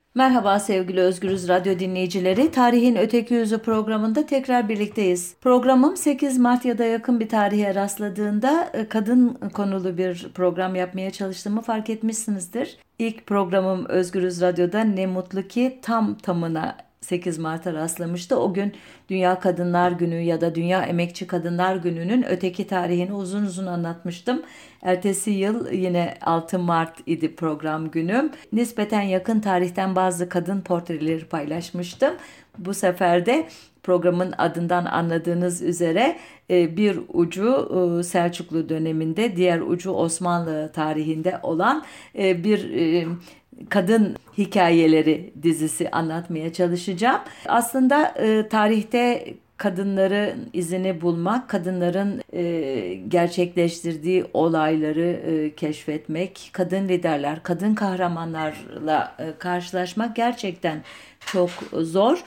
Merhaba sevgili Özgürüz Radyo dinleyicileri. Tarihin Öteki Yüzü programında tekrar birlikteyiz. Programım 8 Mart ya da yakın bir tarihe rastladığında kadın konulu bir program yapmaya çalıştığımı fark etmişsinizdir. İlk programım Özgürüz Radyo'da ne mutlu ki tam tamına 8 Mart'a rastlamıştı. O gün Dünya Kadınlar Günü ya da Dünya Emekçi Kadınlar Günü'nün öteki tarihini uzun uzun anlatmıştım. Ertesi yıl yine 6 Mart idi program günüm. Nispeten yakın tarihten bazı kadın portreleri paylaşmıştım. Bu sefer de programın adından anladığınız üzere bir ucu Selçuklu döneminde, diğer ucu Osmanlı tarihinde olan bir kadın hikayeleri dizisi anlatmaya çalışacağım. Aslında tarihte kadınların izini bulmak, kadınların gerçekleştirdiği olayları keşfetmek, kadın liderler, kadın kahramanlarla karşılaşmak gerçekten çok zor.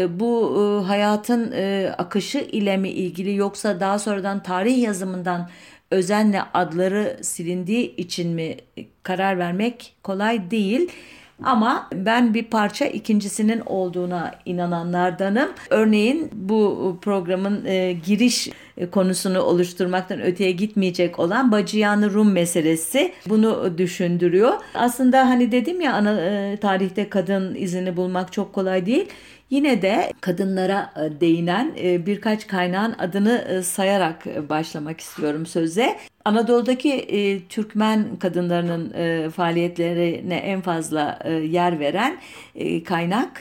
Bu hayatın akışı ile mi ilgili yoksa daha sonradan tarih yazımından özenle adları silindiği için mi karar vermek kolay değil. Ama ben bir parça ikincisinin olduğuna inananlardanım. Örneğin bu programın giriş konusunu oluşturmaktan öteye gitmeyecek olan Bacıyan Rum meselesi bunu düşündürüyor. Aslında hani dedim ya tarihte kadın izini bulmak çok kolay değil. Yine de kadınlara değinen birkaç kaynağın adını sayarak başlamak istiyorum söze. Anadolu'daki Türkmen kadınlarının faaliyetlerine en fazla yer veren kaynak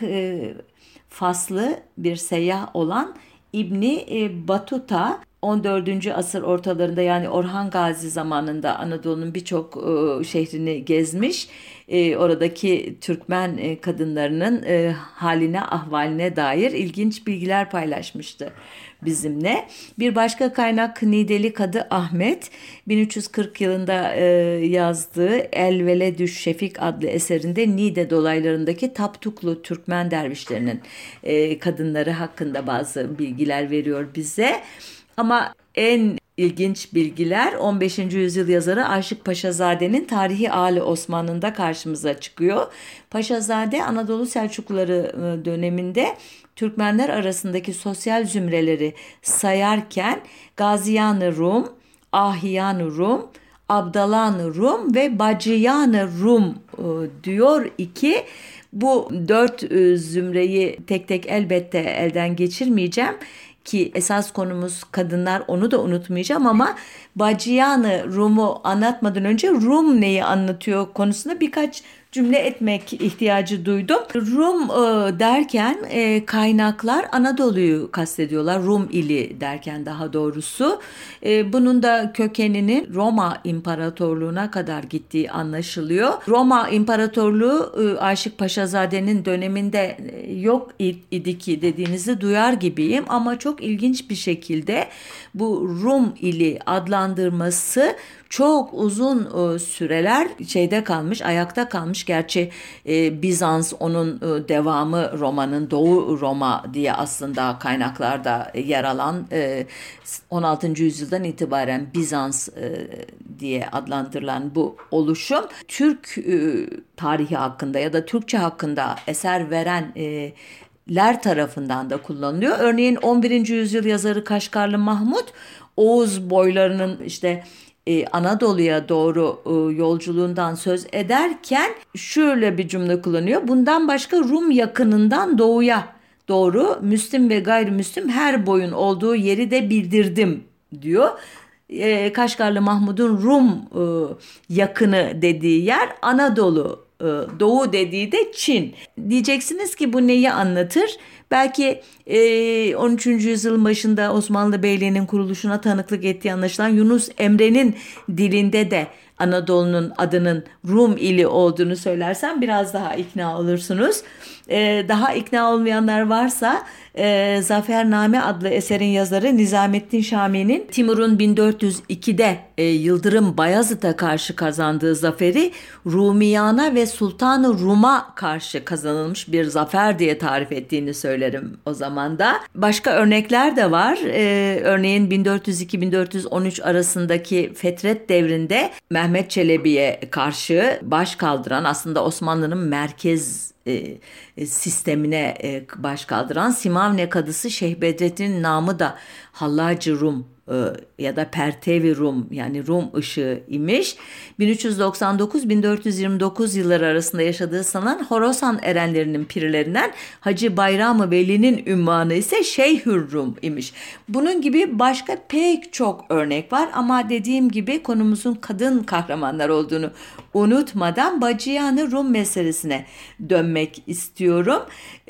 Faslı bir seyyah olan İbni Batuta. 14. asır ortalarında yani Orhan Gazi zamanında Anadolu'nun birçok şehrini gezmiş. Oradaki Türkmen kadınlarının haline, ahvaline dair ilginç bilgiler paylaşmıştı bizimle. Bir başka kaynak Nideli Kadı Ahmet 1340 yılında yazdığı El Veledüş Şefik adlı eserinde Niğde dolaylarındaki Taptuklu Türkmen dervişlerinin kadınları hakkında bazı bilgiler veriyor bize. Ama en ilginç bilgiler 15. yüzyıl yazarı Aşık Paşazade'nin Tarihi Ali Osmanlı'nda karşımıza çıkıyor. Paşazade Anadolu Selçukluları döneminde Türkmenler arasındaki sosyal zümreleri sayarken Gaziyan-ı Rum, Ahiyan-ı Rum, Abdalan-ı Rum ve Bacıyan-ı Rum diyor ki bu dört zümreyi tek tek elbette elden geçirmeyeceğim ki esas konumuz kadınlar, onu da unutmayacağım ama Bacıyan-ı Rum'u anlatmadan önce Rum neyi anlatıyor konusunda birkaç cümle etmek ihtiyacı duydum. Rum derken kaynaklar Anadolu'yu kastediyorlar. Rum ili derken daha doğrusu. Bunun da kökeninin Roma İmparatorluğu'na kadar gittiği anlaşılıyor. Roma İmparatorluğu Aşık Paşazade'nin döneminde yok idi ki dediğinizi duyar gibiyim ama çok ilginç bir şekilde bu Rum ili adlandırması çok uzun süreler şeyde kalmış, ayakta kalmış. Gerçi Bizans onun devamı Roma'nın Doğu Roma diye aslında kaynaklarda yer alan 16. yüzyıldan itibaren Bizans diye adlandırılan bu oluşum Türk tarihi hakkında ya da Türkçe hakkında eser verenler tarafından da kullanılıyor. Örneğin 11. yüzyıl yazarı Kaşgarlı Mahmut Oğuz boylarının işte Anadolu'ya doğru yolculuğundan söz ederken şöyle bir cümle kullanıyor. Bundan başka Rum yakınından doğuya doğru Müslim ve gayrimüslim her boyun olduğu yeri de bildirdim diyor. Kaşgarlı Mahmud'un Rum yakını dediği yer Anadolu, Doğu dediği de Çin. Diyeceksiniz ki bu neyi anlatır? Belki 13. yüzyılın başında Osmanlı Beyliği'nin kuruluşuna tanıklık ettiği anlaşılan Yunus Emre'nin dilinde de Anadolu'nun adının Rum ili olduğunu söylersem biraz daha ikna olursunuz. Daha ikna olmayanlar varsa Zafername adlı eserin yazarı Nizamettin Şami'nin Timur'un 1402'de Yıldırım Bayezid'e karşı kazandığı zaferi Rumiyana ve Sultan-ı Rum'a karşı kazanılmış bir zafer diye tarif ettiğini söylerim o zaman da. Başka örnekler de var. Örneğin 1402-1413 arasındaki Fetret devrinde Mehmet Çelebi'ye karşı baş kaldıran aslında Osmanlı'nın merkez sistemine baş kaldıran Simavne kadısı Şeyh Bedrettin namı da Hallacı Rum ya da Pertevi Rum, yani Rum ışığı imiş. 1399-1429 yılları arasında yaşadığı sanılan Horasan erenlerinin pirlerinden Hacı Bayram-ı Veli'nin ünvanı ise Şeyhür Rum imiş. Bunun gibi başka pek çok örnek var ama dediğim gibi konumuzun kadın kahramanlar olduğunu unutmadan Bacıyan-ı Rum meselesine dönmek istiyorum.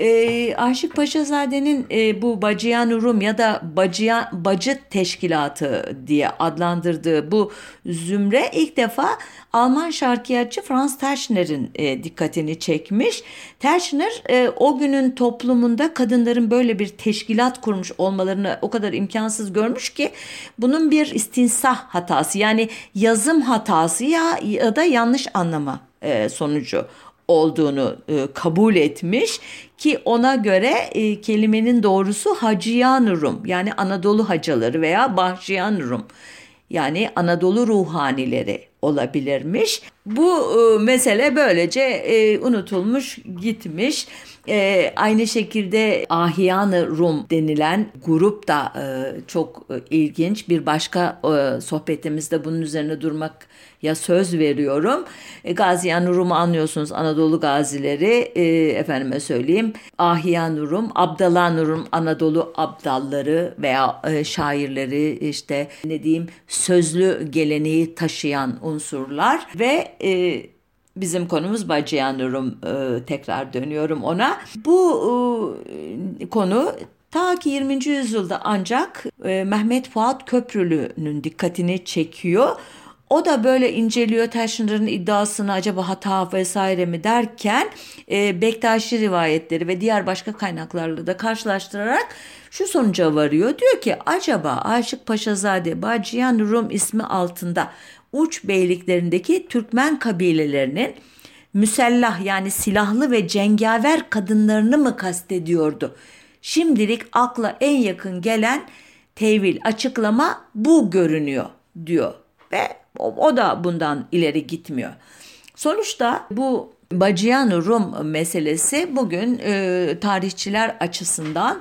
Aşık Paşazade'nin bu Bacıyan-ı Rum ya da Bacı Teşkilatı diye adlandırdığı bu zümre ilk defa Alman şarkiyatçı Franz Teschner'in dikkatini çekmiş. Teschner o günün toplumunda kadınların böyle bir teşkilat kurmuş olmalarını o kadar imkansız görmüş ki bunun bir istinsah hatası, yani yazım hatası ya da yanlış anlama sonucu olduğunu kabul etmiş ki ona göre kelimenin doğrusu Hacıyan Rum, yani Anadolu hacaları veya Bahçıyan Rum, yani Anadolu ruhanileri olabilirmiş. Bu mesele böylece unutulmuş gitmiş. Aynı şekilde Ahyan-ı Rum denilen grup da çok ilginç. Bir başka sohbetimizde bunun üzerine durmaya söz veriyorum. Gaziyan-ı Rum'u anlıyorsunuz, Anadolu gazileri, efendime söyleyeyim. Ahyan-ı Rum, Abdalan-ı Rum, Anadolu abdalları veya şairleri, işte ne diyeyim, sözlü geleneği taşıyan unsurlar ve bizim konumuz Bacıyan-ı Rum, tekrar dönüyorum ona. Bu konu ta ki 20. yüzyılda ancak Mehmet Fuat Köprülü'nün dikkatini çekiyor. O da böyle inceliyor Teschner'ın iddiasını, acaba hata vesaire mi derken Bektaşi rivayetleri ve diğer başka kaynaklarla da karşılaştırarak şu sonuca varıyor. Diyor ki acaba Aşık Paşazade Bacıyan Rum ismi altında uç beyliklerindeki Türkmen kabilelerinin müsellah, yani silahlı ve cengaver kadınlarını mı kastediyordu? Şimdilik akla en yakın gelen tevil, açıklama bu görünüyor diyor ve o da bundan ileri gitmiyor. Sonuçta bu Bacıyan Rum meselesi bugün tarihçiler açısından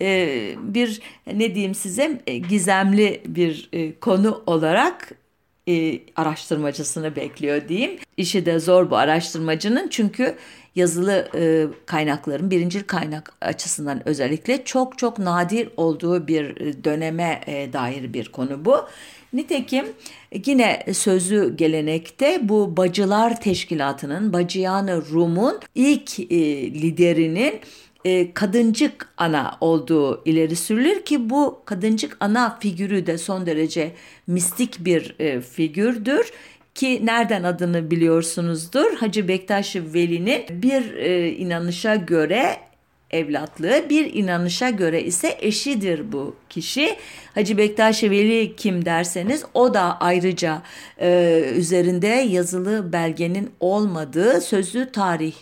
bir, ne diyeyim size, gizemli bir konu olarak araştırmacısını bekliyor diyeyim. İşi de zor bu araştırmacının, çünkü yazılı kaynakların birincil kaynak açısından özellikle çok çok nadir olduğu bir döneme dair bir konu bu. Nitekim yine sözlü gelenekte bu Bacılar Teşkilatı'nın, Bacıyan-ı Rum'un ilk liderinin Kadıncık Ana olduğu ileri sürülür ki bu Kadıncık Ana figürü de son derece mistik bir figürdür. Ki nereden adını biliyorsunuzdur? Hacı Bektaş Veli'nin bir inanışa göre evlatlığı, bir inanışa göre ise eşidir bu kişi. Hacı Bektaş Veli kim derseniz, o da ayrıca üzerinde yazılı belgenin olmadığı, sözlü tarih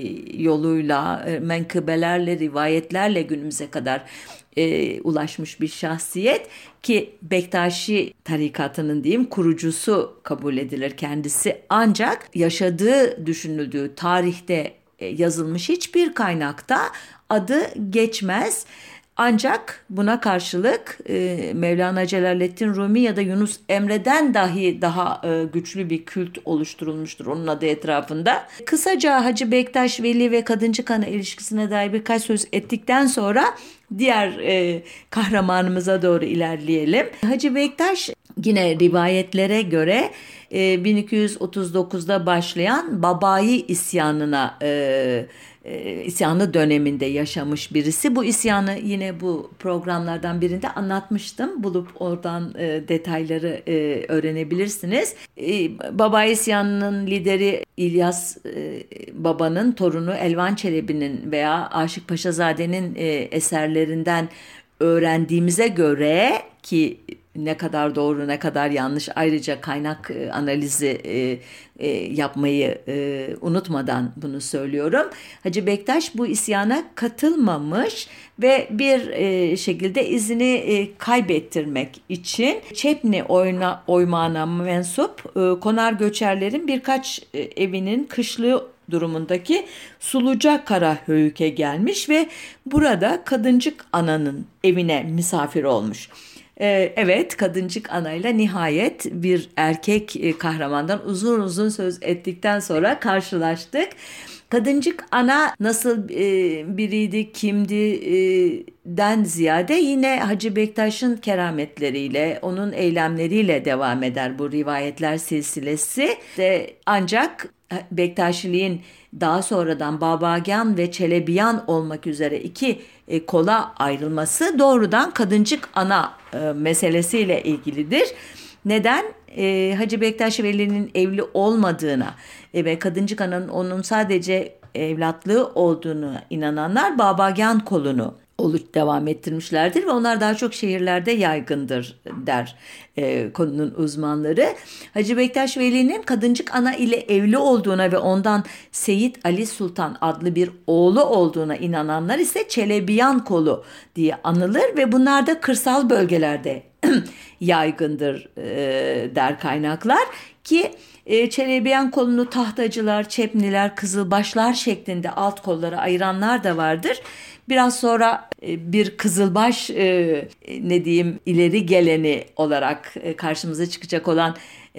yoluyla, menkıbelerle, rivayetlerle günümüze kadar ulaşmış bir şahsiyet ki Bektaşi tarikatının diyeyim kurucusu kabul edilir kendisi, ancak yaşadığı düşünüldüğü tarihte yazılmış hiçbir kaynakta adı geçmez. Ancak buna karşılık Mevlana Celaleddin Rumi ya da Yunus Emre'den dahi daha güçlü bir kült oluşturulmuştur onun adı etrafında. Kısaca Hacı Bektaş Veli ve Kadıncık Ana ilişkisine dair birkaç söz ettikten sonra diğer kahramanımıza doğru ilerleyelim. Hacı Bektaş yine rivayetlere göre 1239'da başlayan Babai isyanı döneminde yaşamış birisi. Bu isyanı yine bu programlardan birinde anlatmıştım. Bulup oradan detayları öğrenebilirsiniz. Babai isyanının lideri İlyas Baba'nın torunu Elvan Çelebi'nin veya Aşık Paşazade'nin eserlerinden öğrendiğimize göre, ki ne kadar doğru ne kadar yanlış ayrıca kaynak analizi yapmayı unutmadan bunu söylüyorum. Hacı Bektaş bu isyana katılmamış ve bir şekilde izini kaybettirmek için Çepni oymağına mensup konar göçerlerin birkaç evinin kışlığı durumundaki Suluca Karahöyük'e gelmiş ve burada Kadıncık Ana'nın evine misafir olmuş. Evet, Kadıncık Ana'yla nihayet bir erkek kahramandan uzun uzun söz ettikten sonra karşılaştık. Kadıncık Ana nasıl biriydi, kimdi den ziyade yine Hacı Bektaş'ın kerametleriyle, onun eylemleriyle devam eder bu rivayetler silsilesi. Ancak Bektaşiliğin daha sonradan Babagan ve Çelebiyan olmak üzere iki kola ayrılması doğrudan Kadıncık Ana meselesiyle ilgilidir. Neden? Hacı Bektaş Veli'nin evli olmadığına ve Kadıncık Ana'nın onun sadece evlatlığı olduğunu inananlar Babagan kolunu devam ettirmişlerdir ve onlar daha çok şehirlerde yaygındır der konunun uzmanları. Hacı Bektaş Veli'nin Kadıncık Ana ile evli olduğuna ve ondan Seyit Ali Sultan adlı bir oğlu olduğuna inananlar ise Çelebiyan kolu diye anılır ve bunlar da kırsal bölgelerde yaygındır der kaynaklar ki Çelebiyan kolunu tahtacılar, çepniler, kızılbaşlar şeklinde alt kollara ayıranlar da vardır. Biraz sonra bir kızılbaş ileri geleni olarak karşımıza çıkacak olan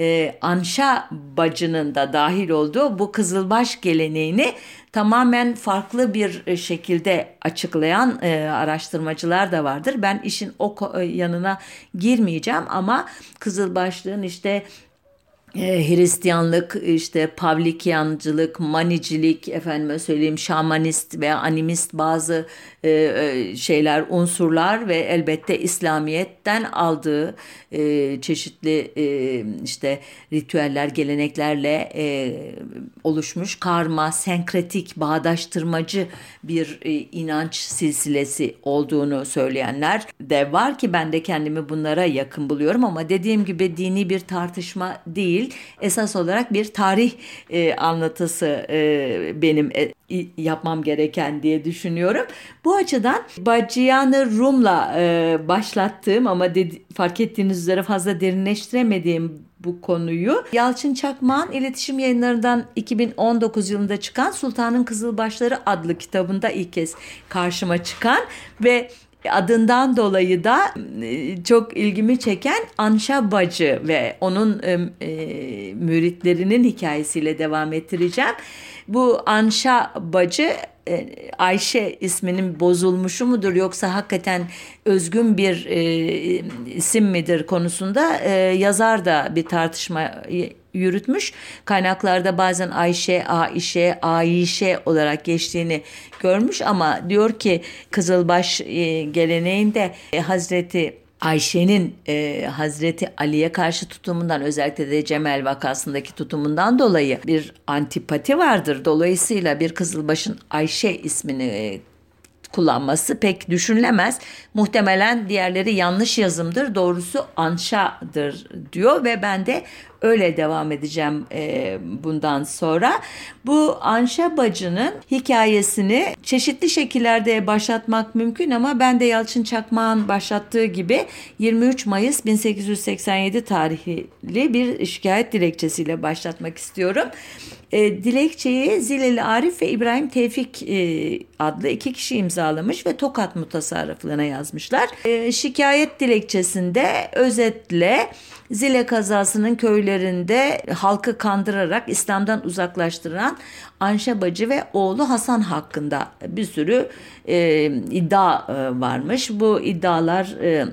Anşa bacının da dahil olduğu bu kızılbaş geleneğini tamamen farklı bir şekilde açıklayan araştırmacılar da vardır. Ben işin o yanına girmeyeceğim ama kızılbaşlığın işte Hristiyanlık, işte Pavlikyancılık, Manicilik, efendime söyleyeyim şamanist veya animist bazı şeyler, unsurlar ve elbette İslamiyet'ten aldığı çeşitli işte ritüeller, geleneklerle oluşmuş karma, senkretik, bağdaştırmacı bir inanç silsilesi olduğunu söyleyenler de var ki ben de kendimi bunlara yakın buluyorum ama dediğim gibi dini bir tartışma değil. Esas olarak bir tarih anlatısı benim yapmam gereken diye düşünüyorum. Bu açıdan Bacıyan-ı Rum'la başlattığım ama fark ettiğiniz üzere fazla derinleştiremediğim bu konuyu Yalçın Çakmak'ın iletişim yayınlarından 2019 yılında çıkan Sultanın Kızılbaşları adlı kitabında ilk kez karşıma çıkan ve adından dolayı da çok ilgimi çeken Anşa Bacı ve onun müritlerinin hikayesiyle devam ettireceğim. Bu Anşa Bacı Ayşe isminin bozulmuşu mudur yoksa hakikaten özgün bir isim midir konusunda yazar da bir tartışma yürütmüş. Kaynaklarda bazen Ayşe, Aişe, Ayşe olarak geçtiğini görmüş ama diyor ki Kızılbaş geleneğinde Hazreti Ayşe'nin Hazreti Ali'ye karşı tutumundan özellikle de Cemel vakasındaki tutumundan dolayı bir antipati vardır. Dolayısıyla bir Kızılbaş'ın Ayşe ismini kullanması pek düşünülemez. Muhtemelen diğerleri yanlış yazımdır. Doğrusu Anşa'dır diyor ve ben de öyle devam edeceğim bundan sonra. Bu Anşa bacının hikayesini çeşitli şekillerde başlatmak mümkün ama ben de Yalçın Çakmak'ın başlattığı gibi 23 Mayıs 1887 tarihli bir şikayet dilekçesiyle başlatmak istiyorum. Dilekçeyi Zileli Arif ve İbrahim Tevfik adlı iki kişi imzalamış ve Tokat Mutasarrıflığına yazmışlar. Şikayet dilekçesinde özetle Zile kazasının köylerinde halkı kandırarak İslam'dan uzaklaştıran Anşa Bacı ve oğlu Hasan hakkında bir sürü iddia varmış. Bu iddialar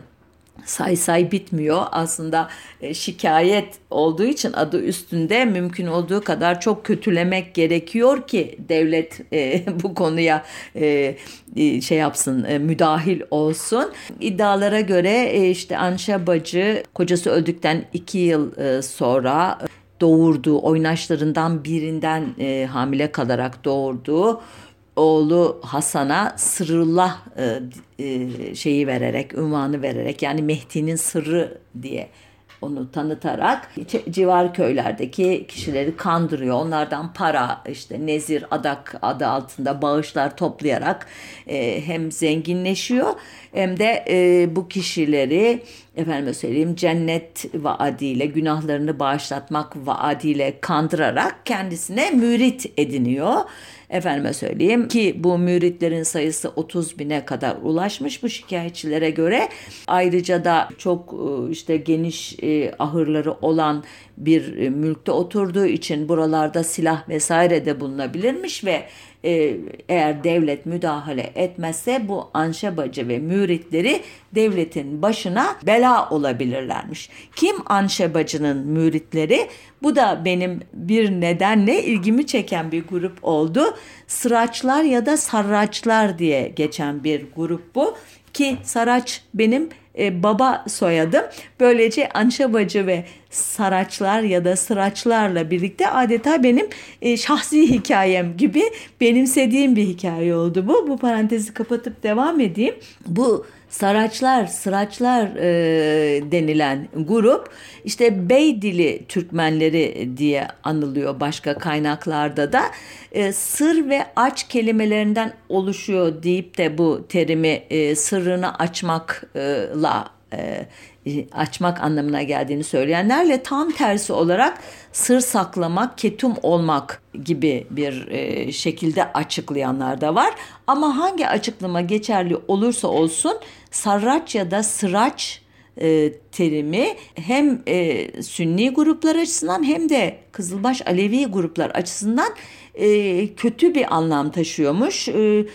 say bitmiyor. Aslında şikayet olduğu için adı üstünde mümkün olduğu kadar çok kötülemek gerekiyor ki devlet bu konuya şey yapsın, müdahil olsun. İddialara göre işte Anşa Bacı kocası öldükten 2 yıl sonra doğurduğu oynaşlarından birinden hamile kalarak doğurduğu oğlu Hasan'a Sırrullah şeyi vererek, unvanı vererek yani Mehdi'nin sırrı diye onu tanıtarak civar köylerdeki kişileri kandırıyor. Onlardan para, işte nezir, adak adı altında bağışlar toplayarak hem zenginleşiyor hem de bu kişileri efendime söyleyeyim cennet vaadiyle, günahlarını bağışlatmak vaadiyle kandırarak kendisine mürit ediniyor. Efendime söyleyeyim ki bu müritlerin sayısı 30 bine kadar ulaşmış bu şikayetçilere göre. Ayrıca da çok işte geniş ahırları olan bir mülkte oturduğu için buralarda silah vesaire de bulunabilirmiş ve eğer devlet müdahale etmezse bu anşebacı ve müritleri devletin başına bela olabilirlermiş. Kim anşebacının müritleri? Bu da benim bir nedenle ilgimi çeken bir grup oldu. Sıraçlar ya da sarraçlar diye geçen bir grup bu. Ki Saraç benim baba soyadım. Böylece anşebacı ve saraçlar ya da sıraçlarla birlikte adeta benim şahsi hikayem gibi benimsediğim bir hikaye oldu bu. Bu parantezi kapatıp devam edeyim. Bu Saraçlar, sıraçlar denilen grup işte Beydili Türkmenleri diye anılıyor başka kaynaklarda da. Sır ve aç kelimelerinden oluşuyor deyip de bu terimi sırrını açmak anlamına geldiğini söyleyenlerle tam tersi olarak sır saklamak, ketum olmak gibi bir şekilde açıklayanlar da var. Ama hangi açıklama geçerli olursa olsun sarraç ya da sıraç terimi hem Sünni gruplar açısından hem de Kızılbaş Alevi gruplar açısından kötü bir anlam taşıyormuş.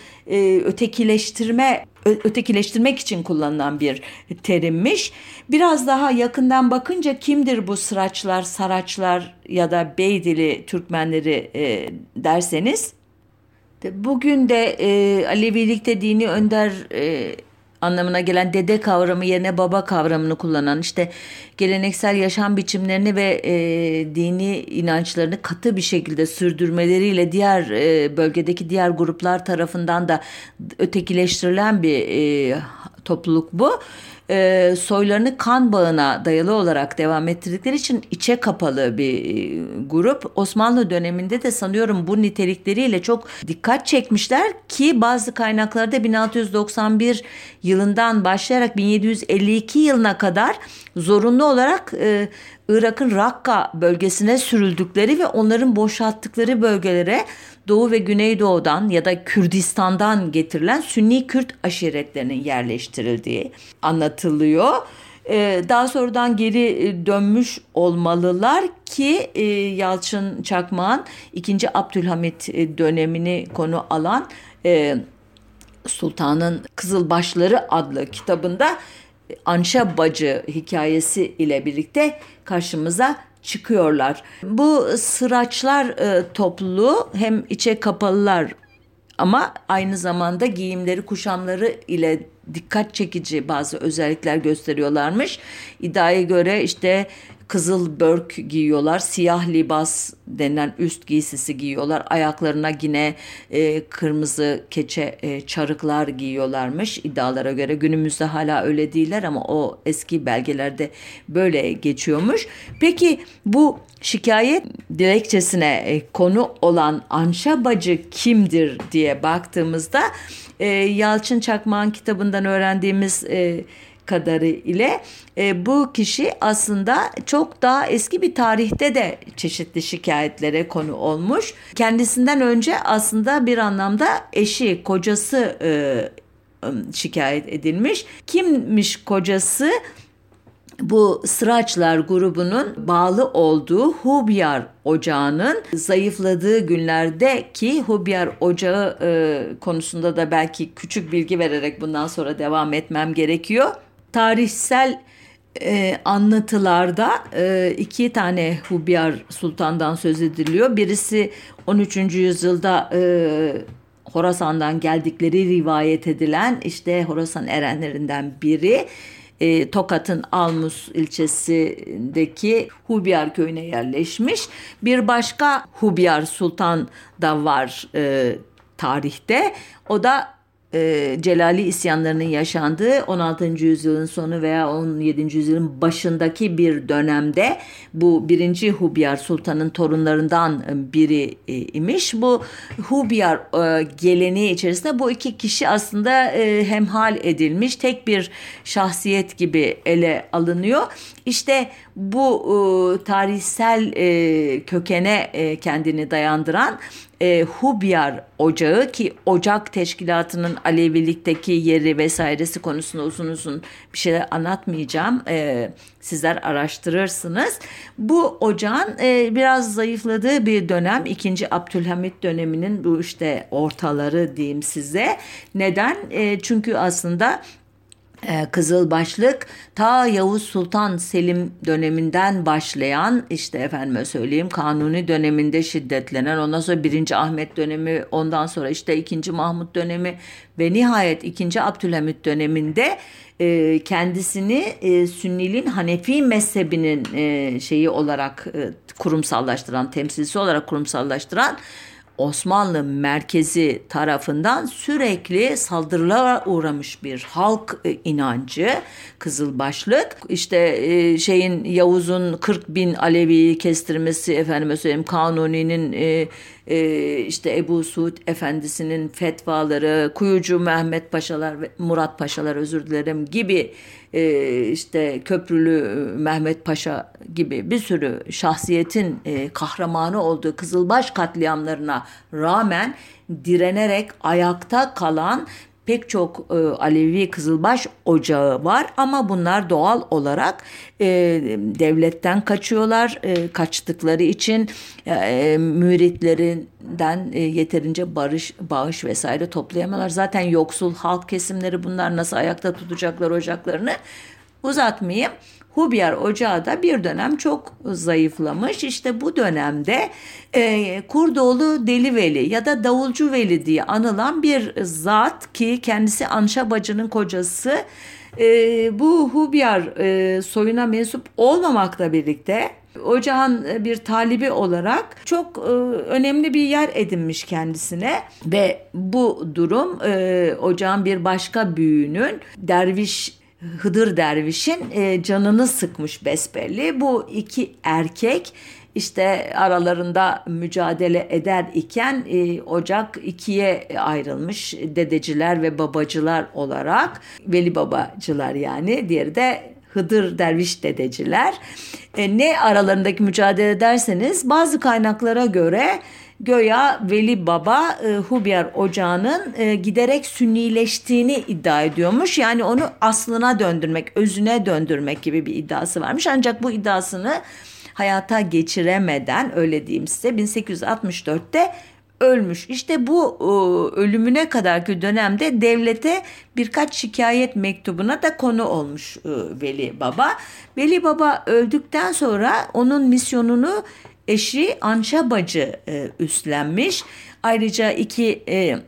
Ötekileştirmek için kullanılan bir terimmiş. Biraz daha yakından bakınca kimdir bu sıraçlar, saraçlar ya da Beydili Türkmenleri derseniz, bugün de Alevilikte dini önder anlamına gelen dede kavramı yerine baba kavramını kullanan, işte geleneksel yaşam biçimlerini ve dini inançlarını katı bir şekilde sürdürmeleriyle diğer bölgedeki diğer gruplar tarafından da ötekileştirilen bir topluluk bu. Soylarını kan bağına dayalı olarak devam ettirdikleri için içe kapalı bir grup. Osmanlı döneminde de sanıyorum bu nitelikleriyle çok dikkat çekmişler ki bazı kaynaklarda 1691 yılından başlayarak 1752 yılına kadar zorunlu olarak Irak'ın Rakka bölgesine sürüldükleri ve onların boşalttıkları bölgelere Doğu ve Güneydoğu'dan ya da Kürdistan'dan getirilen Sünni Kürt aşiretlerinin yerleştirildiği anlatılıyor. Daha sonradan geri dönmüş olmalılar ki Yalçın Çakmak'ın 2. Abdülhamit dönemini konu alan Sultanın Kızılbaşları adlı kitabında Anşebacı hikayesi ile birlikte karşımıza çıkıyorlar. Bu sıraçlar topluluğu hem içe kapalılar ama aynı zamanda giyimleri, kuşamları ile dikkat çekici bazı özellikler gösteriyorlarmış. İddiaya göre işte kızıl börk giyiyorlar, siyah libas denilen üst giysisi giyiyorlar. Ayaklarına yine kırmızı keçe çarıklar giyiyorlarmış iddialara göre. Günümüzde hala öyle değiller ama o eski belgelerde böyle geçiyormuş. Peki bu şikayet dilekçesine konu olan anşebacı kimdir diye baktığımızda Yalçın Çakmak'ın kitabından öğrendiğimiz kadarıyla bu kişi aslında çok daha eski bir tarihte de çeşitli şikayetlere konu olmuş. Kendisinden önce aslında bir anlamda eşi, kocası şikayet edilmiş. Kimmiş kocası? Bu Sıraçlar grubunun bağlı olduğu Hubyar Ocağı'nın zayıfladığı günlerde, ki Hubyar Ocağı konusunda da belki küçük bilgi vererek bundan sonra devam etmem gerekiyor. Tarihsel anlatılarda 2 tane Hubyar Sultan'dan söz ediliyor. Birisi 13. yüzyılda Horasan'dan geldikleri rivayet edilen işte Horasan erenlerinden biri. Tokat'ın Almus ilçesindeki Hubyar köyüne yerleşmiş. Bir başka Hubyar Sultan da var tarihte. O da Celali isyanlarının yaşandığı 16. yüzyılın sonu veya 17. yüzyılın başındaki bir dönemde bu 1. Hubiyar Sultan'ın torunlarından biri imiş. Bu Hubiyar geleneği içerisinde bu iki kişi aslında hemhal edilmiş, tek bir şahsiyet gibi ele alınıyor. İşte bu tarihsel kökene kendini dayandıran Hubiyar Ocağı, ki Ocak Teşkilatı'nın Alevilikteki yeri vesairesi konusunda uzun bir şeyler anlatmayacağım. Sizler araştırırsınız. Bu ocağın biraz zayıfladığı bir dönem, 2. Abdülhamit döneminin bu işte ortaları diyeyim size. Neden? Çünkü aslında Kızılbaşlık ta Yavuz Sultan Selim döneminden başlayan, işte efendime söyleyeyim, Kanuni döneminde şiddetlenen, ondan sonra 1. Ahmet dönemi, ondan sonra işte 2. Mahmut dönemi ve nihayet 2. Abdülhamit döneminde kendisini Sünniliğin Hanefi mezhebinin şeyi olarak kurumsallaştıran, temsilcisi olarak kurumsallaştıran Osmanlı merkezi tarafından sürekli saldırılara uğramış bir halk inancı Kızılbaşlık. İşte Yavuz'un 40.000 Alevi'yi kestirmesi, efendime söyleyeyim, Kanuni'nin işte Ebu Suud Efendisi'nin fetvaları, Kuyucu Mehmet Paşalar ve Murat Paşalar, özür dilerim, gibi işte Köprülü Mehmet Paşa gibi bir sürü şahsiyetin kahramanı olduğu Kızılbaş katliamlarına rağmen direnerek ayakta kalan pek çok Alevi Kızılbaş ocağı var, ama bunlar doğal olarak devletten kaçıyorlar. Kaçtıkları için müritlerinden yeterince bağış vesaire toplayamıyorlar. Zaten yoksul halk kesimleri bunlar, nasıl ayakta tutacaklar ocaklarını, uzatmayayım. Hubiyar Ocağı da bir dönem çok zayıflamış. İşte bu dönemde Kurdoğlu Deli Veli ya da Davulcu Veli diye anılan bir zat, ki kendisi Anşa bacının kocası, bu Hubiyar soyuna mensup olmamakla birlikte ocağın bir talibi olarak çok önemli bir yer edinmiş kendisine ve bu durum ocağın bir başka büyüğünün, Hıdır Derviş'in canını sıkmış besbelli. Bu iki erkek işte aralarında mücadele eder iken ocak ikiye ayrılmış, dedeciler ve babacılar olarak. Veli babacılar yani, diğeri de Hıdır Derviş dedeciler. Ne aralarındaki mücadele derseniz, bazı kaynaklara göre göya Veli Baba Hubiyar Ocağı'nın giderek sünnileştiğini iddia ediyormuş. Yani onu aslına döndürmek, özüne döndürmek gibi bir iddiası varmış. Ancak bu iddiasını hayata geçiremeden, öyle diyeyim size, 1864'te ölmüş. İşte bu ölümüne kadarki dönemde devlete birkaç şikayet mektubuna da konu olmuş Veli Baba. Veli Baba öldükten sonra onun misyonunu eşi Anşa bacı üstlenmiş. Ayrıca iki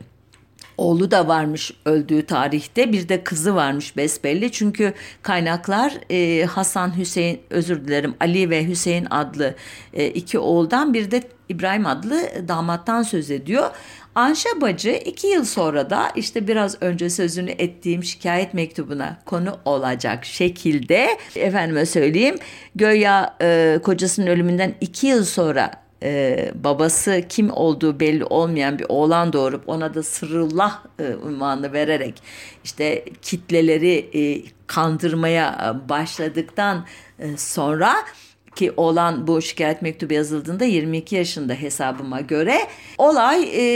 oğlu da varmış öldüğü tarihte. Bir de kızı varmış besbelli. Çünkü kaynaklar Hasan, Hüseyin, özür dilerim, Ali ve Hüseyin adlı iki oğuldan, bir de İbrahim adlı damattan söz ediyor. Anşa bacı 2 yıl sonra da işte biraz önce sözünü ettiğim şikayet mektubuna konu olacak şekilde, efendime söyleyeyim, göya kocasının ölümünden 2 yıl sonra babası kim olduğu belli olmayan bir oğlan doğurup ona da Sırrullah unvanını vererek işte kitleleri kandırmaya başladıktan sonra, ki oğlan bu şikayet mektubu yazıldığında 22 yaşında hesabıma göre, olay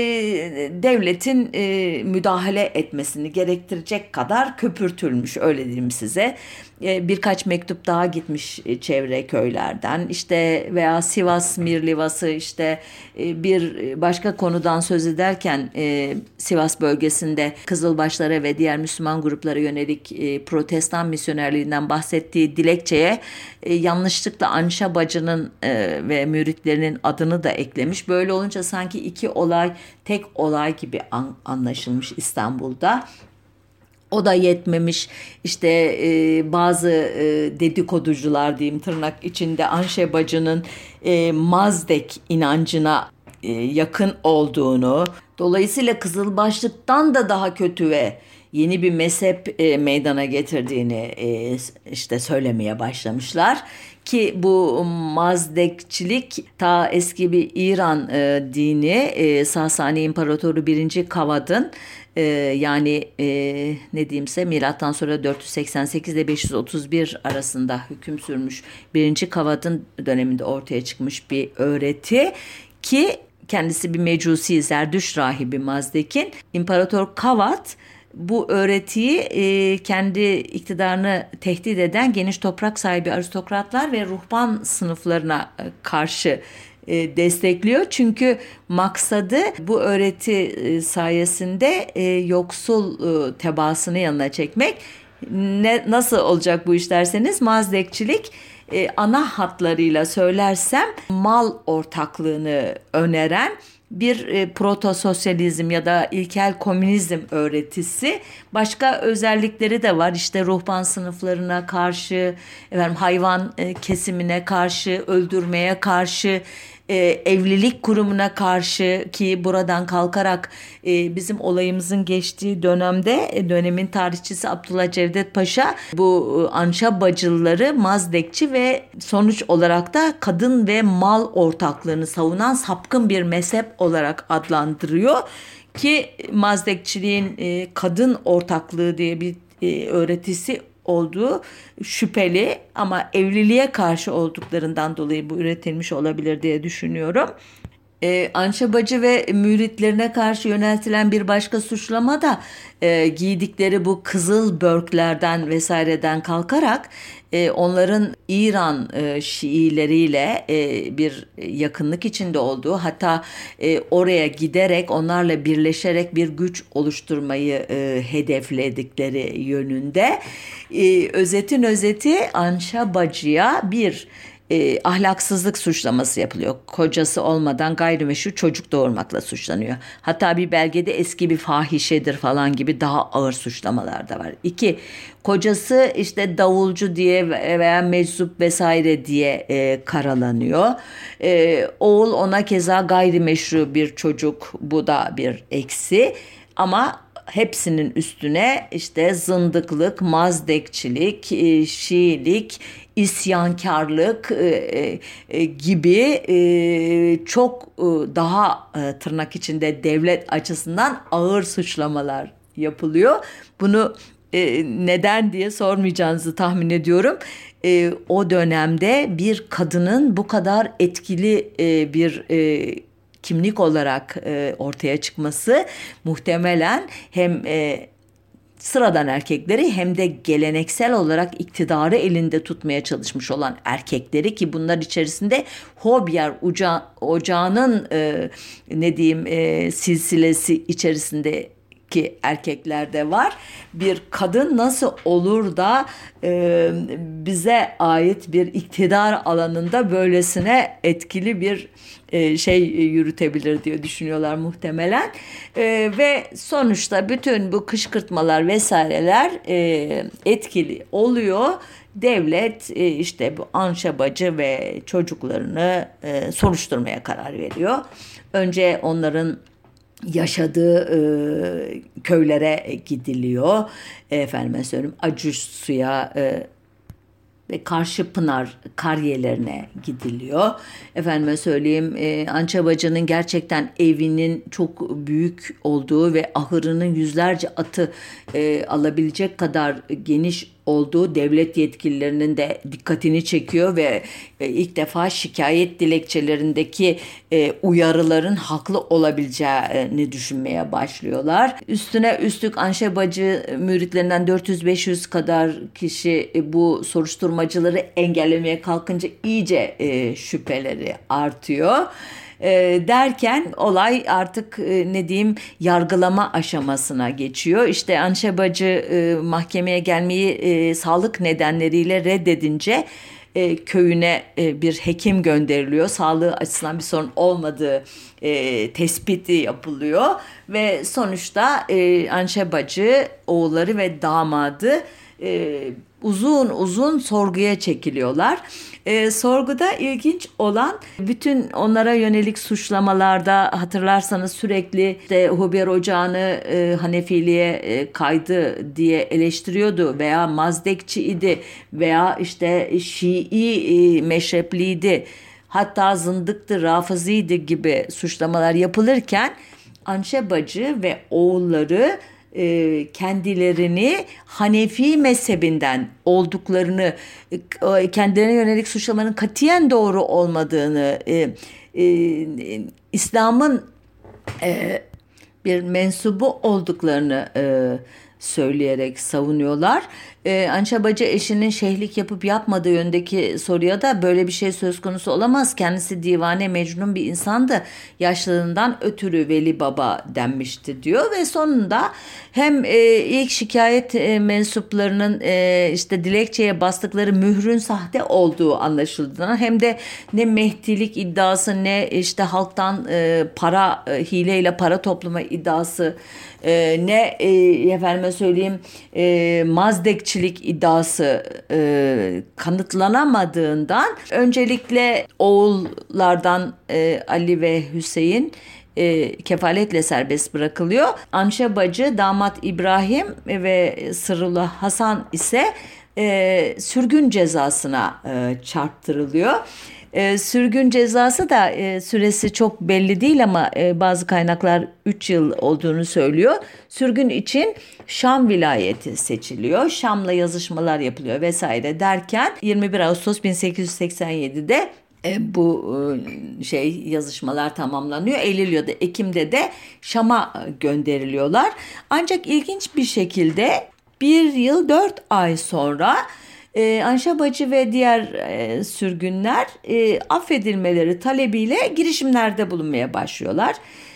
devletin müdahale etmesini gerektirecek kadar köpürtülmüş, öyle diyeyim size. Birkaç mektup daha gitmiş çevre köylerden, işte veya Sivas Mirlivası, işte bir başka konudan söz ederken Sivas bölgesinde Kızılbaşlara ve diğer Müslüman gruplara yönelik protestan misyonerliğinden bahsettiği dilekçeye yanlışlıkla Anşa bacının ve müritlerinin adını da eklemiş. Böyle olunca sanki iki olay tek olay gibi anlaşılmış İstanbul'da. O da yetmemiş, işte bazı dedikoducular diyeyim tırnak içinde Anşa bacının Mazdek inancına yakın olduğunu, Dolayısıyla Kızılbaşlık'tan da daha kötü ve yeni bir mezhep meydana getirdiğini işte söylemeye başlamışlar. Ki bu Mazdekçilik ta eski bir İran dini, Sasani İmparatoru 1. Kavad'ın yani ne diyeyimse milattan sonra 488 ile 531 arasında hüküm sürmüş 1. Kavad'ın döneminde ortaya çıkmış bir öğreti ki kendisi bir mecusi, Zerdüşt rahibi Mazdek'in. İmparator Kavad bu öğretiyi kendi iktidarını tehdit eden geniş toprak sahibi aristokratlar ve ruhban sınıflarına karşı destekliyor. Çünkü maksadı bu öğreti sayesinde yoksul tebaasını yanına çekmek. Nasıl olacak bu iş derseniz, Mazdekçilik ana hatlarıyla söylersem mal ortaklığını öneren bir proto-sosyalizm ya da ilkel komünizm öğretisi. Başka özellikleri de var. İşte ruhban sınıflarına karşı, hayvan kesimine karşı, öldürmeye karşı, evlilik kurumuna karşı, ki buradan kalkarak bizim olayımızın geçtiği dönemin tarihçisi Abdullah Cevdet Paşa bu Anşa bacıları Mazdekçi ve sonuç olarak da kadın ve mal ortaklığını savunan sapkın bir mezhep olarak adlandırıyor. Ki Mazdekçiliğin kadın ortaklığı diye bir öğretisi olduğu şüpheli, ama evliliğe karşı olduklarından dolayı bu üretilmiş olabilir diye düşünüyorum. Anşa bacı ve müritlerine karşı yöneltilen bir başka suçlama da giydikleri bu kızıl börklerden vesaireden kalkarak onların İran Şiileriyle bir yakınlık içinde olduğu, hatta oraya giderek onlarla birleşerek bir güç oluşturmayı hedefledikleri yönünde. Özetin özeti, Anşa bacıya bir ahlaksızlık suçlaması yapılıyor. Kocası olmadan gayrimeşru çocuk doğurmakla suçlanıyor. Hatta bir belgede eski bir fahişedir falan gibi daha ağır suçlamalar da var. 2. Kocası işte davulcu diye veya meczup vesaire diye karalanıyor. Oğul ona keza gayrimeşru bir çocuk, bu da bir eksi. Ama hepsinin üstüne işte zındıklık, mazdekçilik, Şiilik, isyankarlık gibi çok daha tırnak içinde devlet açısından ağır suçlamalar yapılıyor. Bunu neden diye sormayacağınızı tahmin ediyorum. O dönemde bir kadının bu kadar etkili bir kimlik olarak ortaya çıkması muhtemelen hem sıradan erkekleri hem de geleneksel olarak iktidarı elinde tutmaya çalışmış olan erkekleri, ki bunlar içerisinde Hobyer ocağının silsilesi içerisinde ki erkekler de var. Bir kadın nasıl olur da bize ait bir iktidar alanında böylesine etkili bir yürütebilir diye düşünüyorlar muhtemelen. Ve sonuçta bütün bu kışkırtmalar vesaireler etkili oluyor. Devlet işte bu Anşa bacı ve çocuklarını soruşturmaya karar veriyor. Önce onların yaşadığı köylere gidiliyor. Efendime söyleyeyim, Acısu'ya ve Karşıpınar kariyelerine gidiliyor. Efendime söyleyeyim, Anşa bacının gerçekten evinin çok büyük olduğu ve ahırının yüzlerce atı alabilecek kadar geniş olduğu devlet yetkililerinin de dikkatini çekiyor ve ilk defa şikayet dilekçelerindeki uyarıların haklı olabileceğini düşünmeye başlıyorlar. Üstüne üstlük Anşa bacı müritlerinden 400-500 kadar kişi bu soruşturmacıları engellemeye kalkınca iyice şüpheleri artıyor. Derken olay artık yargılama aşamasına geçiyor. İşte Anşa bacı mahkemeye gelmeyi sağlık nedenleriyle reddedince köyüne bir hekim gönderiliyor. Sağlığı açısından bir sorun olmadığı tespiti yapılıyor ve sonuçta Anşa bacı, oğulları ve damadı uzun uzun sorguya çekiliyorlar. Sorguda ilginç olan bütün onlara yönelik suçlamalarda hatırlarsanız sürekli işte Huber Ocağı'nı Hanefiliğe kaydı diye eleştiriyordu veya Mazdekçi idi veya işte Şii meşrepliydi, hatta zındıktı, rafıziydi gibi suçlamalar yapılırken Anşe Bacı ve oğulları kendilerini Hanefi mezhebinden olduklarını, kendilerine yönelik suçlamaların katiyen doğru olmadığını, İslam'ın bir mensubu olduklarını söyleyerek savunuyorlar. Anşe Bacı eşinin şeyhlik yapıp yapmadığı yönündeki soruya da böyle bir şey söz konusu olamaz. Kendisi divane mecnun bir insandı. Yaşlılığından ötürü Veli Baba denmişti diyor ve sonunda hem ilk şikayet mensuplarının işte dilekçeye bastıkları mührün sahte olduğu anlaşıldığından hem de ne Mehdilik iddiası ne işte halktan hileyle para toplama iddiası ne efendime söyleyeyim Mazdekçilik iddiası kanıtlanamadığından öncelikle oğullardan Ali ve Hüseyin kefaletle serbest bırakılıyor. Anşe Bacı, damat İbrahim ve Sırrullah Hasan ise sürgün cezasına çarptırılıyor. Sürgün cezası da süresi çok belli değil ama bazı kaynaklar 3 yıl olduğunu söylüyor. Sürgün için Şam vilayeti seçiliyor. Şam'la yazışmalar yapılıyor vesaire derken 21 Ağustos 1887'de bu yazışmalar tamamlanıyor. Eylül ya da Ekim'de de Şam'a gönderiliyorlar. Ancak ilginç bir şekilde 1 yıl 4 ay sonra Anşe Bacı ve diğer sürgünler affedilmeleri talebiyle girişimlerde bulunmaya başlıyorlar.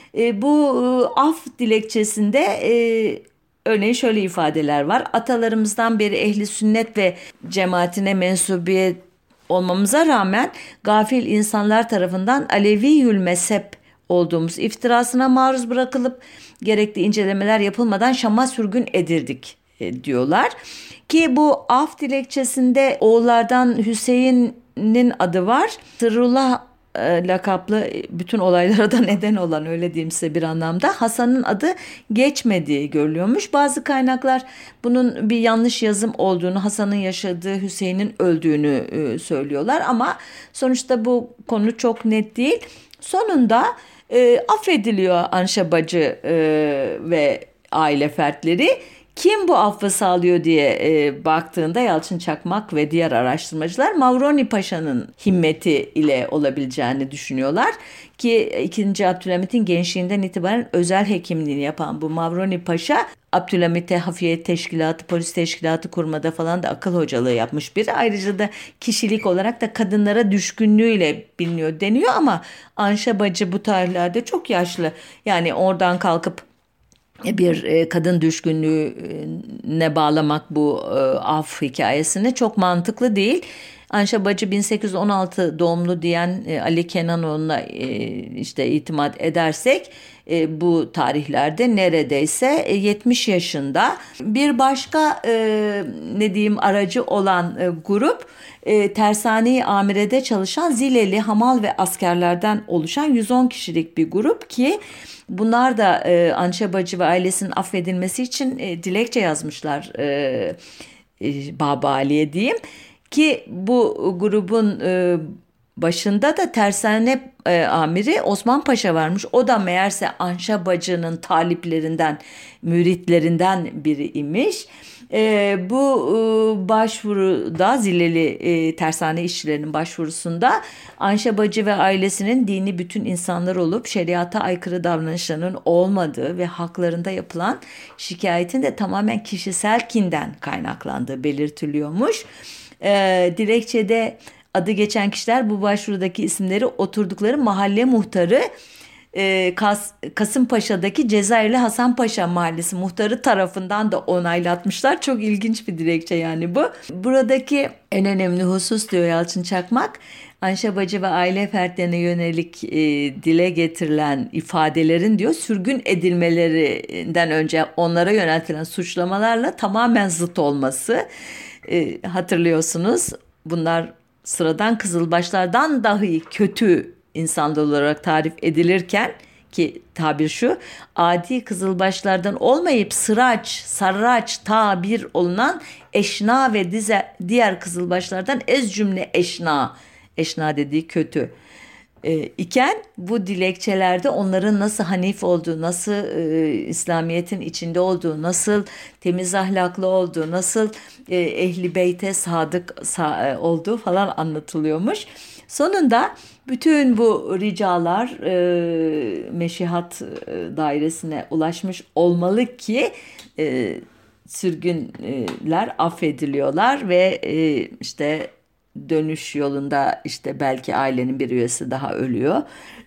Bu af dilekçesinde örneğin şöyle ifadeler var. Atalarımızdan beri ehli sünnet ve cemaatine mensubiyet olmamıza rağmen gafil insanlar tarafından Aleviyül mezhep olduğumuz iftirasına maruz bırakılıp gerekli incelemeler yapılmadan Şam'a sürgün edildik diyorlar. Ki bu af dilekçesinde oğullardan Hüseyin'in adı var. Sırrullah lakaplı bütün olaylara da neden olan, öyle diyeyim size bir anlamda, Hasan'ın adı geçmediği görülüyormuş. Bazı kaynaklar bunun bir yanlış yazım olduğunu, Hasan'ın yaşadığı, Hüseyin'in öldüğünü söylüyorlar ama sonuçta bu konu çok net değil. Sonunda affediliyor Anşe Bacı ve aile fertleri. Kim bu affı sağlıyor diye baktığında Yalçın Çakmak ve diğer araştırmacılar Mavroni Paşa'nın himmeti ile olabileceğini düşünüyorlar. Ki 2. Abdülhamit'in gençliğinden itibaren özel hekimliğini yapan bu Mavroni Paşa, Abdülhamit'e hafiyet teşkilatı, polis teşkilatı kurmada falan da akıl hocalığı yapmış biri. Ayrıca da kişilik olarak da kadınlara düşkünlüğüyle biliniyor deniyor ama Anşe Bacı bu tarihlerde çok yaşlı. Yani oradan kalkıp bir kadın düşkünlüğüne bağlamak bu af hikayesini çok mantıklı değil. Anşe Bacı 1816 doğumlu diyen Ali Kenanoğlu'na işte itimat edersek bu tarihlerde neredeyse 70 yaşında. Bir başka aracı olan grup Tersane-i Amire'de çalışan Zileli hamal ve askerlerden oluşan 110 kişilik bir grup ki bunlar da Anşe Bacı ve ailesinin affedilmesi için dilekçe yazmışlar Baba Ali'ye diyeyim. Ki bu grubun başında da tersane amiri Osman Paşa varmış. O da meğerse Anşe Bacı'nın taliplerinden, müritlerinden biri imiş. Bu başvuruda Zileli tersane işçilerinin başvurusunda Anşe Bacı ve ailesinin dini bütün insanlar olup şeriata aykırı davranışlarının olmadığı ve haklarında yapılan şikayetin de tamamen kişisel kinden kaynaklandığı belirtiliyormuş. Dilekçede adı geçen kişiler bu başvurudaki isimleri oturdukları mahalle muhtarı Kasımpaşa'daki Cezayirli Hasan Paşa Mahallesi muhtarı tarafından da onaylatmışlar. Çok ilginç bir dilekçe yani bu. Buradaki en önemli husus diyor Yalçın Çakmak, Anşa Bacı ve aile fertlerine yönelik dile getirilen ifadelerin diyor sürgün edilmelerinden önce onlara yöneltilen suçlamalarla tamamen zıt olması. Hatırlıyorsunuz, bunlar sıradan kızılbaşlardan dahi kötü insanlar olarak tarif edilirken, ki tabir şu, adi kızılbaşlardan olmayıp sıraç, sarraç tabir olunan eşna ve diğer kızılbaşlardan ez cümle eşna dediği kötü iken, bu dilekçelerde onların nasıl hanif olduğu, nasıl İslamiyet'in içinde olduğu, nasıl temiz ahlaklı olduğu, nasıl ehli beyte sadık olduğu falan anlatılıyormuş. Sonunda bütün bu ricalar meşihat dairesine ulaşmış olmalı ki sürgünler affediliyorlar ve işte dönüş yolunda işte belki ailenin bir üyesi daha ölüyor.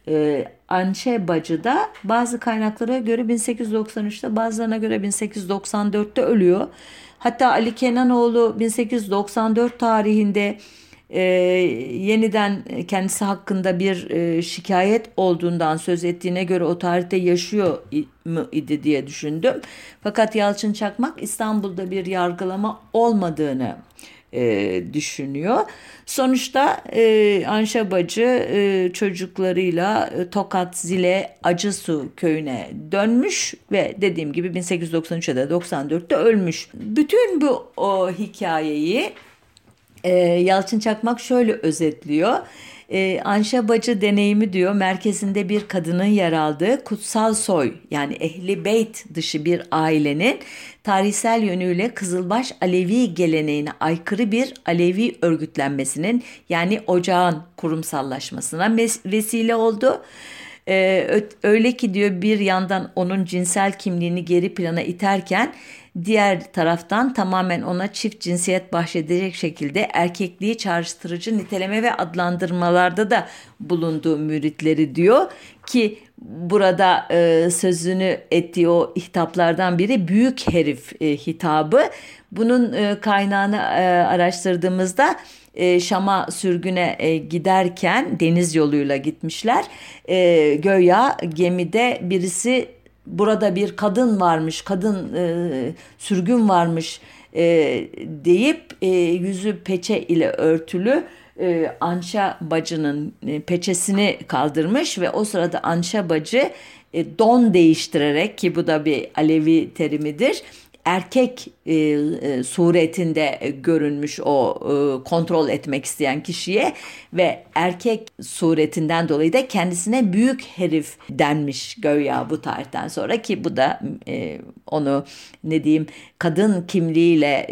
Anşe Bacı da bazı kaynaklara göre 1893'te, bazılarına göre 1894'te ölüyor. Hatta Ali Kenanoğlu 1894 tarihinde yeniden kendisi hakkında bir şikayet olduğundan söz ettiğine göre o tarihte yaşıyor mu idi diye düşündüm. Fakat Yalçın Çakmak İstanbul'da bir yargılama olmadığını düşünüyor. Sonuçta Anşa Bacı çocuklarıyla Tokat Zile Acısu köyüne dönmüş ve dediğim gibi 1893'te de 94'te ölmüş. Bütün bu hikayeyi Yalçın Çakmak şöyle özetliyor. Anşa Bacı deneyimi diyor, merkezinde bir kadının yer aldığı kutsal soy, yani ehli beyt dışı bir ailenin tarihsel yönüyle Kızılbaş Alevi geleneğine aykırı bir Alevi örgütlenmesinin, yani ocağın kurumsallaşmasına vesile oldu. Öyle ki diyor, bir yandan onun cinsel kimliğini geri plana iterken diğer taraftan tamamen ona çift cinsiyet bahşedecek şekilde erkekliği çağrıştırıcı niteleme ve adlandırmalarda da bulunduğu müritleri diyor ki burada sözünü ettiği o hitaplardan biri büyük herif hitabı. Bunun kaynağını araştırdığımızda Şam'a sürgüne giderken deniz yoluyla gitmişler. Göya gemide birisi burada bir kadın varmış, sürgün varmış deyip yüzü peçe ile örtülü Anşa Bacı'nın peçesini kaldırmış ve o sırada Anşa Bacı don değiştirerek, ki bu da bir Alevi terimidir, erkek suretinde görünmüş o kontrol etmek isteyen kişiye ve erkek suretinden dolayı da kendisine büyük herif denmiş göya bu tarihten sonra, ki bu da onu ne diyeyim, kadın kimliğiyle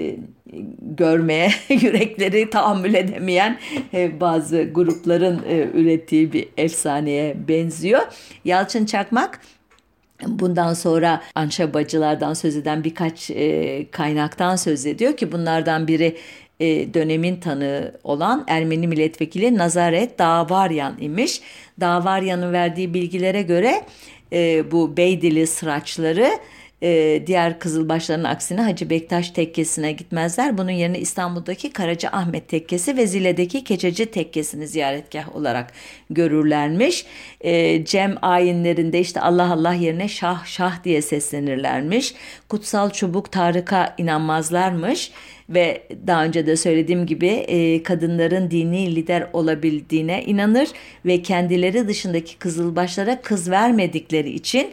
görmeye yürekleri tahammül edemeyen bazı grupların ürettiği bir efsaneye benziyor. Yalçın Çakmak bundan sonra Anşa Bacılardan söz eden birkaç kaynaktan söz ediyor ki bunlardan biri dönemin tanığı olan Ermeni milletvekili Nazaret Dağvaryan imiş. Dağvaryan'ın verdiği bilgilere göre bu Beydili sıraçları diğer Kızılbaşların aksine Hacı Bektaş Tekkesi'ne gitmezler. Bunun yerine İstanbul'daki Karaca Ahmet Tekkesi ve Zile'deki Keçeci Tekkesi'ni ziyaretgah olarak görürlermiş. Cem ayinlerinde işte Allah Allah yerine Şah Şah diye seslenirlermiş. Kutsal çubuk Tarık'a inanmazlarmış. Ve daha önce de söylediğim gibi kadınların dini lider olabildiğine inanır ve kendileri dışındaki kızılbaşlara kız vermedikleri için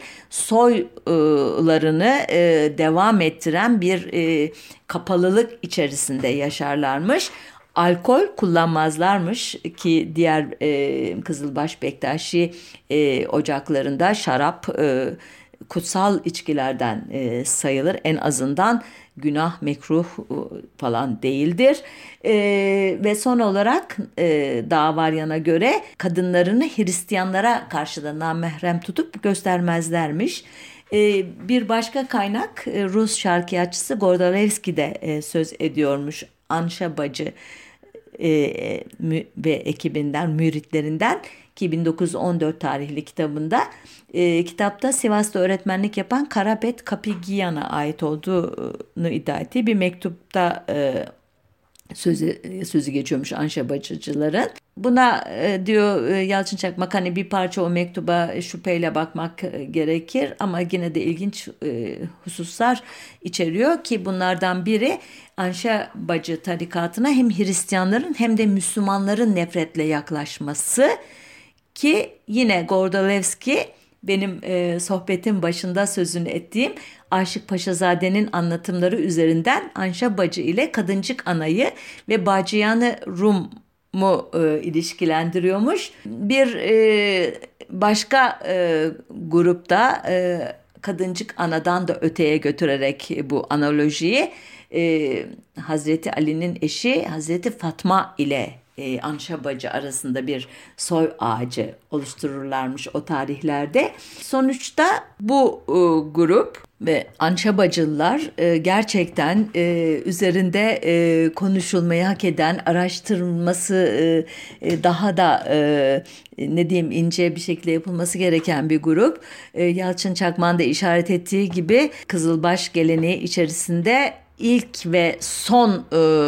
soylarını devam ettiren bir kapalılık içerisinde yaşarlarmış. Alkol kullanmazlarmış ki diğer Kızılbaş Bektaşi ocaklarında şarap kutsal içkilerden sayılır. En azından günah, mekruh falan değildir. Ve son olarak Dağvaryan'a göre kadınlarını Hristiyanlara karşı da namahrem tutup göstermezlermiş. Bir başka kaynak Rus şarkıyatçısı Gordalevski de söz ediyormuş Anşa Bacı ve ekibinden, müritlerinden ki 1914 tarihli kitabında. Kitapta Sivas'ta öğretmenlik yapan Karapet Kapıgiyan'a ait olduğunu iddia ettiği bir mektupta sözü geçiyormuş Anşa Bacıcıların. Buna diyor Yalçın Çakmak, hani bir parça o mektuba şüpheyle bakmak gerekir ama yine de ilginç hususlar içeriyor ki bunlardan biri Anşa Bacı tarikatına hem Hristiyanların hem de Müslümanların nefretle yaklaşması, ki yine Gordolevski benim sohbetin başında sözünü ettiğim Aşık Paşazade'nin anlatımları üzerinden Anşa Bacı ile Kadıncık Ana'yı ve Bacıyanı Rum'u ilişkilendiriyormuş. Bir başka grupta Kadıncık Ana'dan da öteye götürerek bu analojiyi Hazreti Ali'nin eşi Hazreti Fatma ile Anşa Bacı arasında bir soy ağacı oluştururlarmış o tarihlerde. Sonuçta bu grup ve Anşa Bacılılar gerçekten üzerinde konuşulmayı hak eden, araştırılması daha da ne diyeyim ince bir şekilde yapılması gereken bir grup. Yalçın Çakmak'ın da işaret ettiği gibi Kızılbaş geleneği içerisinde ilk ve son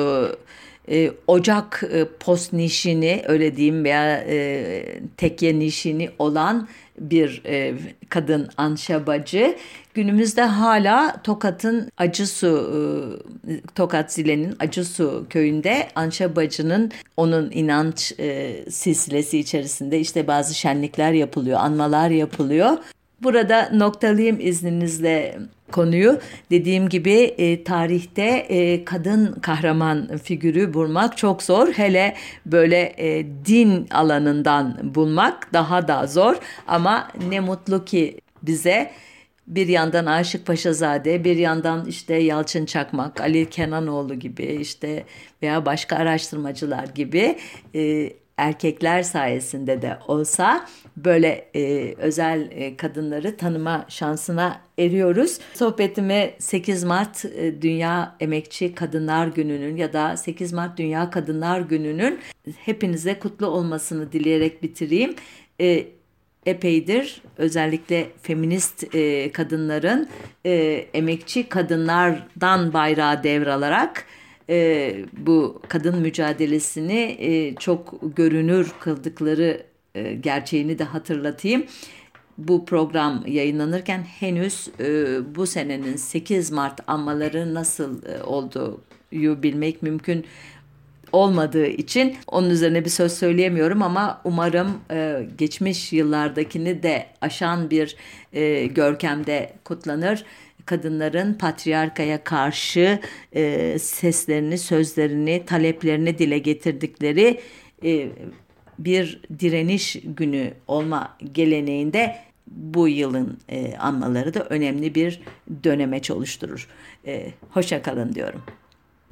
ocak post nişini, öyle diyeyim, veya tekye nişini olan bir kadın Anşa Bacı. Günümüzde hala Tokat'ın Acısu, Tokat Zile'nin Acısu köyünde Anşa Bacı'nın, onun inanç silsilesi içerisinde işte bazı şenlikler yapılıyor, anmalar yapılıyor. Burada noktalayayım izninizle konuyu. Dediğim gibi tarihte kadın kahraman figürü bulmak çok zor. Hele böyle din alanından bulmak daha da zor. Ama ne mutlu ki bize bir yandan Aşık Paşazade, bir yandan işte Yalçın Çakmak, Ali Kenanoğlu gibi işte veya başka araştırmacılar gibi erkekler sayesinde de olsa böyle özel kadınları tanıma şansına eriyoruz. Sohbetimi 8 Mart Dünya Emekçi Kadınlar Günü'nün ya da 8 Mart Dünya Kadınlar Günü'nün hepinize kutlu olmasını dileyerek bitireyim. Epeydir özellikle feminist kadınların emekçi kadınlardan bayrağı devralarak bu kadın mücadelesini çok görünür kıldıkları gerçeğini de hatırlatayım. Bu program yayınlanırken henüz bu senenin 8 Mart anmaları nasıl olduğu bilmek mümkün olmadığı için onun üzerine bir söz söyleyemiyorum ama umarım geçmiş yıllardakini de aşan bir görkemde kutlanır. Kadınların patriarkaya karşı seslerini, sözlerini, taleplerini dile getirdikleri bir direniş günü olma geleneğinde bu yılın anmaları da önemli bir dönemeç oluşturur. Hoşça kalın diyorum.